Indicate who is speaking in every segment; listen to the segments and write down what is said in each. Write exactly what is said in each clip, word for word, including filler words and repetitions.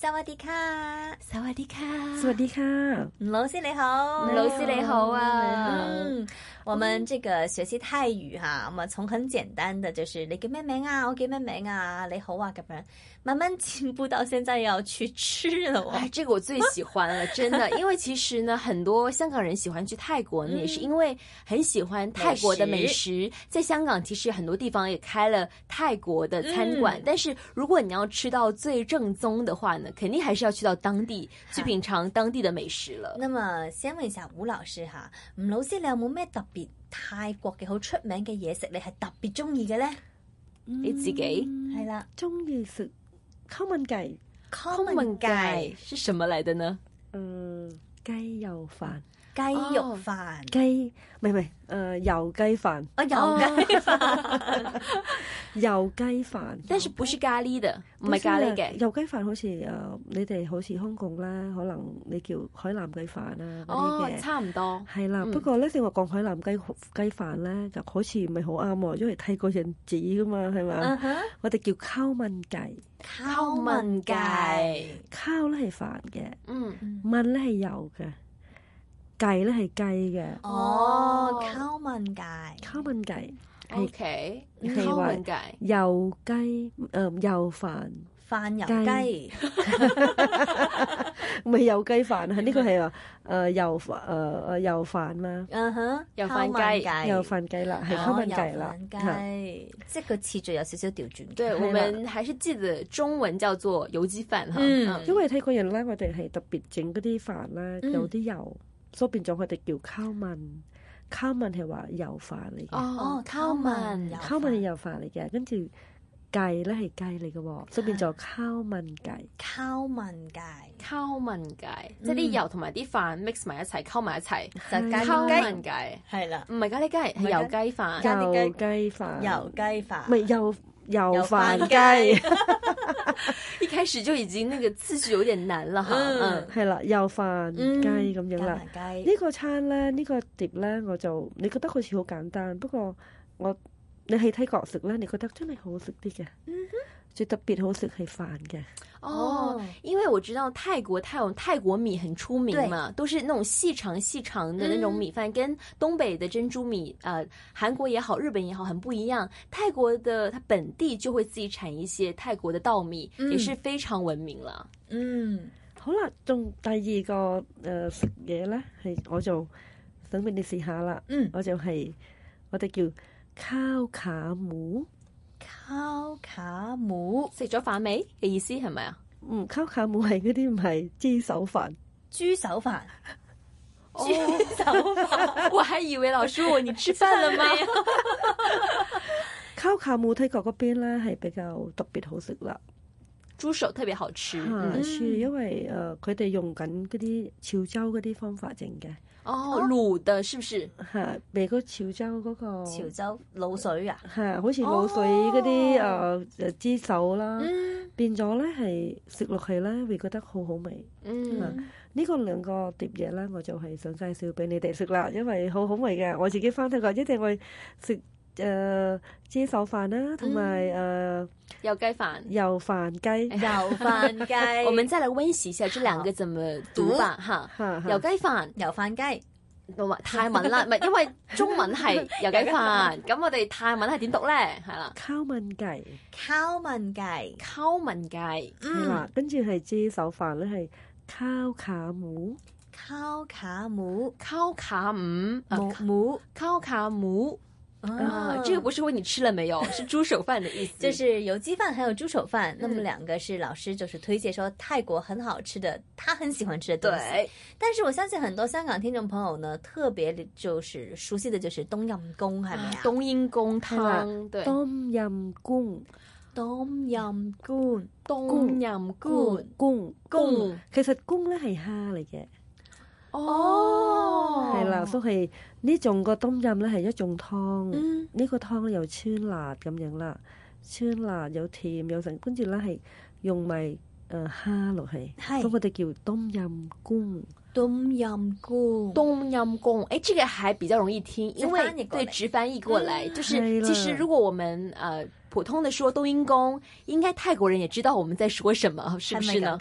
Speaker 1: สวัสดีค่ะ
Speaker 2: สวัสดีค่ะ
Speaker 3: สวัสดีค่ะ
Speaker 1: 吳老師你好
Speaker 2: 吳老師你好啊
Speaker 1: 你好嗯我們這個學習泰語哈，我們從很簡單的就是你叫咩名啊，我叫咩名啊，你好啊咁樣，慢慢進步到現在要去吃了哦。
Speaker 2: 哎，這個我最喜歡了，真的，因為其實呢，很多香港人喜歡去泰國呢，也是因為很喜歡泰國的美食。在香港其實很多地方也開了泰國的餐館，但是如果你要吃到最正宗的話呢，肯定還是要去到當地去品嘗當地的美食了。
Speaker 1: 那麼先問一下吳老師哈，吳老師你有冇咩特別泰國嘅好出名嘅嘢食，你係特別中意嘅咧？
Speaker 2: 你自己
Speaker 1: 係啦，
Speaker 3: 中意食烤燜雞。
Speaker 1: 烤燜雞
Speaker 2: 是什麼來的呢？
Speaker 3: 嗯，雞油飯。
Speaker 1: 雞肉飯，
Speaker 3: 雞唔係唔係，誒油雞飯，
Speaker 1: 哦油雞飯，
Speaker 3: 油雞飯，
Speaker 2: 但是不是咖喱的，唔係咖喱嘅。
Speaker 3: 油雞飯好似誒，你哋好似香港啦，可能你叫海南雞飯啊嗰啲嘅，
Speaker 2: 差唔多。
Speaker 3: 係啦，不過咧你話講海南雞雞飯咧，就好似唔係好啱喎，因為泰國人指噶嘛，係嘛？我哋叫烤燜雞，
Speaker 1: 烤燜雞，
Speaker 3: 烤咧係飯嘅，
Speaker 2: 嗯，
Speaker 3: 燜咧係油嘅。雞咧係雞嘅，
Speaker 1: 哦，烤燜雞，
Speaker 3: 烤燜雞
Speaker 2: ，OK，
Speaker 3: 烤燜雞，油雞，誒油飯，
Speaker 1: 飯油雞，
Speaker 3: 唔係油雞飯啊，呢個係話誒油誒誒油飯嘛，
Speaker 1: 嗯哼，
Speaker 2: 油飯雞，
Speaker 3: 油飯雞啦，係烤燜雞啦，
Speaker 1: 雞，即係個次序有少少調轉。
Speaker 2: 對，我們還是記得中文叫做油雞飯哈，
Speaker 3: 因為泰國人咧，我哋係特別整嗰啲飯咧，有啲油。所以變咗佢哋叫烤燜，烤燜係話油飯嚟嘅。
Speaker 1: 哦，烤燜，
Speaker 3: 烤燜係油飯嚟嘅，跟住雞咧係雞嚟嘅喎，所以變咗烤燜雞。
Speaker 1: 烤燜雞，
Speaker 2: 烤燜雞，即係啲油同埋啲飯 mix 埋一齊，溝埋一齊
Speaker 1: 就
Speaker 2: 烤燜雞。
Speaker 1: 係啦，
Speaker 2: 唔係咖喱雞，係油雞飯。
Speaker 3: 油雞飯，
Speaker 1: 油雞飯，
Speaker 3: 唔係油油飯雞。
Speaker 2: 一開始就已經那個次序有點難啦，哈，嗯，
Speaker 3: 係啦，油飯雞咁樣啦。
Speaker 1: 呢
Speaker 3: 個餐咧，呢個碟咧，我就你覺得好似好簡單，不過我你喺泰國食咧，你覺得真係好食啲嘅。嗯哼，最特別好食係飯嘅。
Speaker 2: 哦，因為我知道泰國泰有泰國米很出名嘛，都是那種細長細長的那種米飯，跟東北的珍珠米，呃，韓國也好，日本也好，很不一樣。泰國的它本地就會自己產一些泰國的稻米，也是非常聞名啦。
Speaker 1: 嗯，
Speaker 3: 好啦，仲第二個誒食嘢咧，係我就想俾你試下啦。嗯，我就係我哋叫烤卡姆。
Speaker 1: 烤卡姆
Speaker 2: 食咗飯未嘅意思係咪啊？
Speaker 3: 嗯，烤卡姆係嗰啲唔係豬手飯，
Speaker 1: 豬手飯，豬手飯，
Speaker 2: 我還以為老師問你吃飯了嗎？
Speaker 3: 烤卡姆泰國嗰邊咧係比較特別好食啦，
Speaker 2: 豬手特別好吃，
Speaker 3: 嗯，因為誒佢哋用緊嗰啲潮州嗰啲方法整嘅。
Speaker 2: 哦，滷的，是不是？
Speaker 3: 係，俾個潮州嗰個
Speaker 1: 潮州滷水啊，
Speaker 3: 係，好似滷水嗰啲誒誒豬手啦，變咗咧係食落去咧會覺得好好味。嗯，呢個兩個碟嘢咧，我就係想介紹俾你哋食啦，因為好好味嘅。我自己翻泰國一定會食誒豬手飯啦，同埋誒
Speaker 2: 油雞飯、
Speaker 3: 油飯雞、
Speaker 1: 油飯雞。
Speaker 2: 我們再來溫習一下這兩個怎麼讀吧，哈，油雞飯、
Speaker 1: 油飯雞。
Speaker 2: 泰文啦，唔係因為中文係油雞飯，咁我哋泰文係點讀咧？係啦，
Speaker 3: 烤燜雞，
Speaker 1: 烤燜雞，
Speaker 2: 烤燜雞，
Speaker 3: 係啦，跟住係豬手飯咧係烤卡姆，
Speaker 1: 烤卡姆，
Speaker 2: 烤卡姆，
Speaker 1: 母母，
Speaker 2: 烤卡姆。啊，這個不是問你吃了沒有，是豬手飯的意思。
Speaker 1: 就是有雞飯，還有豬手飯。那麼兩個是老師就是推薦說泰國很好吃的，他很喜歡吃的東西。對，但是我相信很多香港聽眾朋友呢，特別就是熟悉的就是冬陰功，係咪啊？
Speaker 2: 冬陰功湯，對，
Speaker 3: 冬陰功，
Speaker 1: 冬陰功，
Speaker 2: 冬陰功，
Speaker 3: 功功，其實功咧係蝦嚟嘅。
Speaker 2: 哦，
Speaker 3: 係啦，所以呢種個冬陰咧係一種湯，呢、嗯、個湯有酸辣咁樣啦，酸辣有甜有成，跟住咧係用埋誒蝦落去，所以我哋叫冬陰功。
Speaker 1: 冬陰功，
Speaker 2: 冬陰功，誒，這個還比較容易聽，因為對直翻譯過來，嗯、就是其實如果我們呃普通的說冬陰功，應該泰國人也知道我們在說什麼，是不是呢？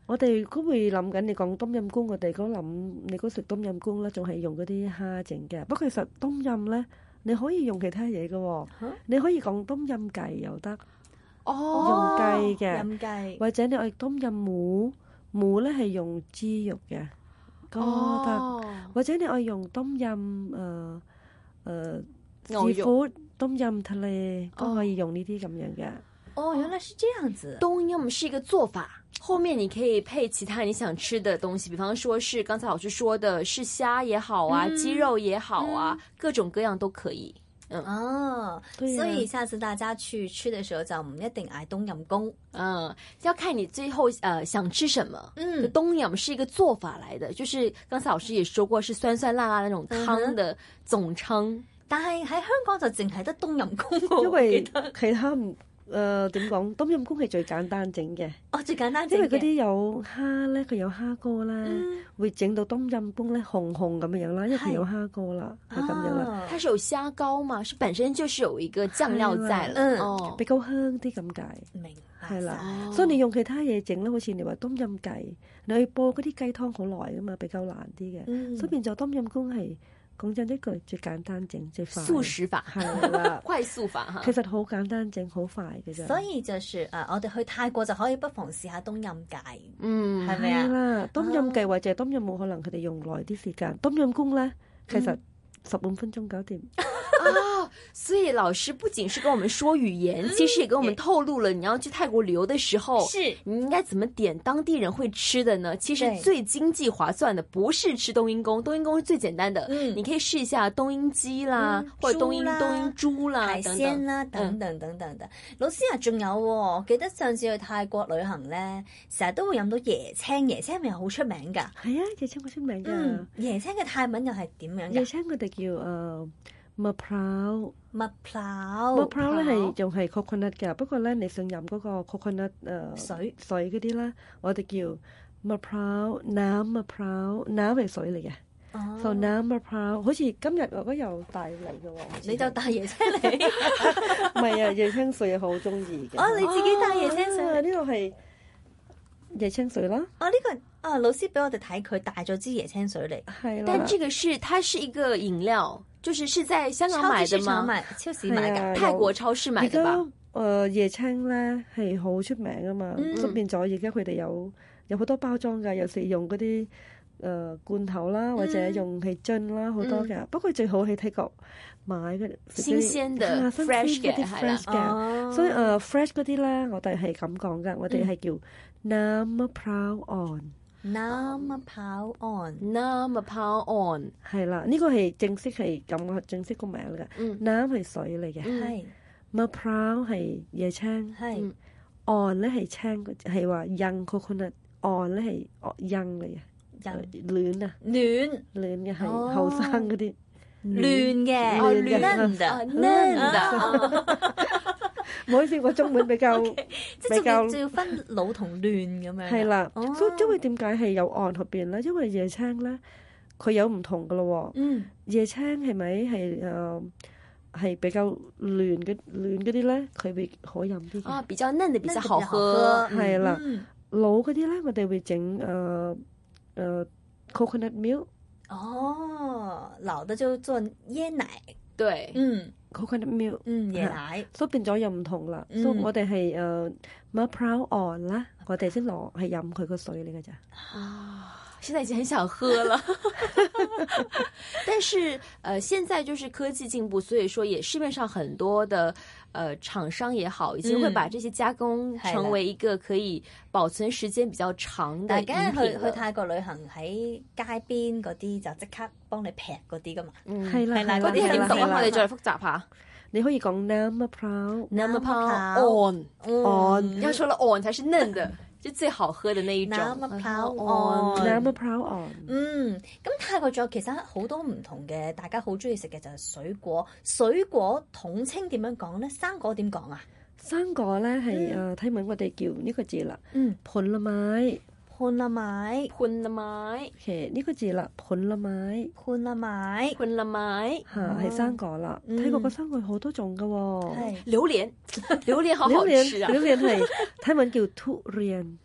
Speaker 3: 我哋都會諗緊，你講冬陰功，我哋嗰諗你嗰食冬陰功咧，仲係用嗰啲蝦整嘅。不過其實冬陰咧，你可以用其他嘢嘅喎，你可以講冬陰雞又得，用雞嘅，或者你愛冬陰母，母咧係用豬肉嘅，都得。或者你愛用冬陰誒誒師傅冬陰ทะเล都可以用呢啲咁樣嘅。
Speaker 1: 哦，原來是這樣子。
Speaker 2: 冬陰是一個做法，後面你可以配其他你想吃的東西，比方說是剛才老師說的是蝦也好啊，嗯、雞肉也好啊、嗯，各種各樣都可以。嗯
Speaker 1: 哦，對、啊，所以下次大家去吃的時候就唔一定嗌冬陰功，
Speaker 2: 嗯，要看你最後呃想吃什麼。嗯，冬陰是一個做法來的，就是剛才老師也說過是酸酸辣辣那種湯的總稱。嗯、
Speaker 1: 但係喺香港就淨係得冬陰功，
Speaker 3: 因為其他唔。誒點講？冬陰功係最簡單整嘅。
Speaker 1: 哦，最簡單整嘅。因為
Speaker 3: 嗰啲有蝦咧，佢有蝦膏啦、嗯，會整到冬陰功咧紅紅咁樣啦，因為佢有蝦膏啦，係咁樣啦。
Speaker 2: 它是有蝦膏嘛？是本身就是有一個醬料在了，嗯，
Speaker 3: 哦、比較香啲咁解。
Speaker 1: 明白。
Speaker 3: 係啦、哦，所以你用其他嘢整咧，好似你話冬陰雞，你去煲嗰啲雞湯好耐噶嘛，比較難啲嘅、嗯。所以變咗冬陰功係。講真一句，最簡單整最快，
Speaker 2: 速食法
Speaker 3: 係啦，
Speaker 2: 快速法哈。
Speaker 3: 其實好簡單整，好快嘅啫。
Speaker 1: 所以就是誒、呃，我哋去泰國就可以不妨試下冬陰雞，
Speaker 2: 嗯，
Speaker 1: 係咪啊？
Speaker 3: 係啦，冬陰雞或者冬陰冇可能佢哋用耐啲時間，冬陰功咧其實十五分鐘搞掂。
Speaker 2: 哦，所以老師不僅是跟我們說語言，其實也跟我們透露了你要去泰國旅遊的時候，
Speaker 1: 是
Speaker 2: 你應該怎麼點當地人會吃的呢？其實最經濟划算的不是吃冬陰功，冬陰功是最簡單的，嗯，你可以試一下冬陰雞啦，嗯、或者冬陰冬陰豬啦，
Speaker 1: 海鮮啦，等等等等的。老師啊，仲有、哦，記得上次去泰國旅行咧，成日都會飲到椰青，椰青係咪好出名噶？
Speaker 3: 係啊，椰青好出名噶、
Speaker 1: 嗯。椰青嘅泰文又係點樣？
Speaker 3: 椰青佢哋叫誒。呃麥泡，
Speaker 1: 麥泡，
Speaker 3: 麥泡咧係仲係 coconut 嘅，不過咧你想飲嗰個 coconut 誒、呃、
Speaker 1: 水
Speaker 3: 水嗰啲咧，我哋叫麥泡，น้ำ 麥泡，น้ำ係水嚟嘅，就น้ำ 麥泡，好似今日我都有帶嚟嘅喎，
Speaker 1: 你就帶椰青嚟，
Speaker 3: 唔係啊，椰青水好中意嘅，
Speaker 1: 哦，你自己帶椰青水，
Speaker 3: 呢、啊這個係椰青水啦，
Speaker 1: 哦呢、這個啊老師俾我哋睇佢帶咗支椰青水嚟，
Speaker 3: 係啦，
Speaker 2: 但這個是它是一個飲料。就是是在香港買的嗎？
Speaker 1: 超市買嘅，
Speaker 2: 泰國超市買的吧？
Speaker 3: 誒、呃，椰青咧係好出名噶嘛，咁、嗯、變咗而家佢哋有有好多包裝噶，有時用嗰啲誒罐頭啦，或者用係樽啦，好、嗯、多嘅、嗯。不過最好喺泰國買嘅
Speaker 2: 新鮮嘅、啊、fresh 嘅，係啦。
Speaker 3: 哦，所以誒、uh, fresh 嗰啲咧，我哋係咁講噶，我哋係叫น้ำมะพร้าวอ่อน。
Speaker 1: น้ำมะพร้าวอ่อน
Speaker 2: น้ำมะพร้าวอ่อน
Speaker 3: 係啦，呢、這個係正式係咁正式個名嚟嘅。嗯，น้ำ係水嚟嘅，係มะพร้าว係椰青，係อ่อน咧係青，係話 young coconut， อ่อน咧係幼嚟嘅，嫩啊，
Speaker 1: 嫩
Speaker 3: 嫩嘅係後生嗰啲，
Speaker 1: 嫩嘅，嫩的，嫩的。
Speaker 3: 唔好意思，我中文比較
Speaker 1: okay,
Speaker 3: 比較
Speaker 1: 即係要分老同嫩咁樣。
Speaker 3: 係啦，所以因為點解係有岸入邊咧？因為椰青咧，佢有唔同噶咯。嗯，椰青係咪係誒係比較嫩嘅嫩嗰啲咧？佢會好飲啲嘅。
Speaker 2: 啊，比較嫩嘅比較好喝。
Speaker 3: 係啦，老嗰啲咧，我哋會整誒誒 coconut milk。
Speaker 1: 哦，老的就做椰奶。
Speaker 2: 對，
Speaker 1: 嗯。
Speaker 3: coconut milk，
Speaker 1: 嗯，椰奶，
Speaker 3: 所以變咗又唔同啦。所以我哋係誒มะพร้าวอ่อน啦，我哋先攞係飲佢個水嚟嘅咋。
Speaker 2: 啊，現在已經很想喝了。但是，呃，現在就是科技進步，所以說也市面上很多的，呃，廠商也好，已經會把這些加工成為一個可以保存時間比較長的飲品。
Speaker 1: 大家去去泰國旅行喺街邊嗰啲就即刻幫你劈嗰啲噶嘛。
Speaker 3: 嗯，係啦，
Speaker 2: 嗰啲係點讀啊？我哋再複雜下。
Speaker 3: 你可以講น้ำมะพร้าว，
Speaker 2: น้ำมะพร้าวอ่อน，嗯，要說了อ่อน才是嫩的。就最好喝的那一種
Speaker 1: น้ำมะพร้าวอ่อน，
Speaker 3: น้ำมะพร้าวอ่อน。
Speaker 1: 嗯，咁泰國仲有其實好多唔同嘅，大家好中意食嘅就係水果。水果統稱點樣講咧？生果點講啊？
Speaker 3: 生果咧係誒睇文我哋叫呢個字啦。嗯，ผลไม้
Speaker 1: ผลไม้
Speaker 2: ผลไม้
Speaker 3: 其實呢個字啦，ผลไม้
Speaker 1: ผลไม้
Speaker 2: ผลไม้
Speaker 3: 嚇係生果啦。泰國個生果好多種噶喎。
Speaker 2: 榴蓮，榴蓮好好吃啊！
Speaker 3: 榴蓮係睇文叫ทุเรียน。
Speaker 1: ทุ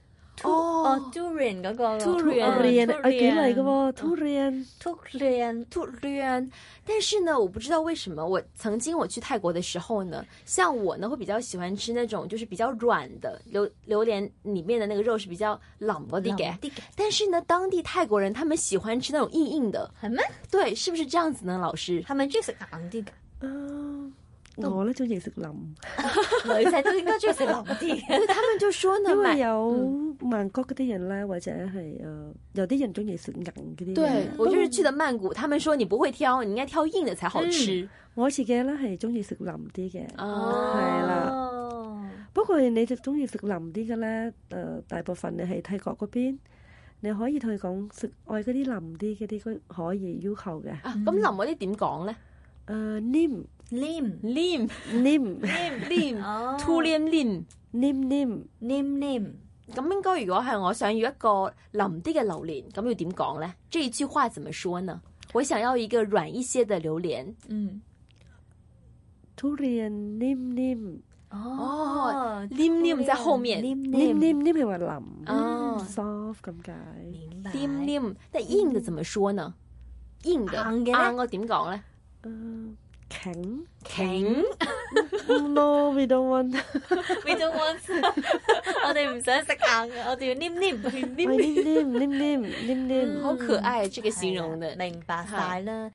Speaker 1: 哦 durian 嗰個
Speaker 2: durian
Speaker 3: 啊幾嚟嘅喎 durian
Speaker 1: durian
Speaker 2: durian。但是呢，我不知道為什麼，我曾經我去泰國的時候呢，像我呢會比較喜歡吃那種就是比較軟的榴榴蓮裡面的那個肉是比較腍嗰啲嘅，但是呢，當地泰國人他們喜歡吃那種硬硬的，
Speaker 1: 係咩？
Speaker 2: 對，是不是這樣子呢？老師
Speaker 1: 係咪中意食硬啲㗎？
Speaker 3: 啊，我咧中意食腍，
Speaker 1: 女仔都應該中意食腍啲。
Speaker 2: 他們就說呢，
Speaker 3: 因為有曼谷嗰啲人咧，或者係誒有啲人中意食硬嗰啲。
Speaker 2: 對，我就是去的曼谷，他們說你不會挑，你應該挑硬的才好吃。
Speaker 3: 嗯、我自己咧係中意食腍啲嘅，
Speaker 2: 哦，
Speaker 3: 係啦。不過你就中意食腍啲嘅咧，誒大部分你喺泰國嗰邊，你可以同佢講食愛嗰啲腍啲嗰啲，可以要求嘅。
Speaker 2: 啊，咁腍嗰啲點講咧？
Speaker 3: 誒黏。
Speaker 1: 黏
Speaker 2: 黏
Speaker 3: 黏
Speaker 2: 黏，too 黏黏
Speaker 3: 黏黏
Speaker 1: 黏黏。
Speaker 2: 咁應該如果係我想要一個腍啲嘅榴蓮，咁要點講咧？這一句話怎麼說呢？我想要一個軟一些的榴蓮。嗯
Speaker 3: ，durian 黏黏。
Speaker 2: 哦，黏黏在後面，
Speaker 3: 黏黏黏係話腍，
Speaker 2: 哦
Speaker 3: ，soft 咁解。
Speaker 1: 明白。
Speaker 2: 黏黏，但硬的怎麼說呢？硬的硬嘅咧，我點講咧？
Speaker 3: 嗯。鉭
Speaker 2: 鉭
Speaker 3: ，no we don't want，we
Speaker 1: don't want， 我哋唔想食硬嘅，我哋要黏黏
Speaker 3: 黏黏黏黏黏黏，
Speaker 2: 好可愛，這個形容的，
Speaker 1: 明白晒啦。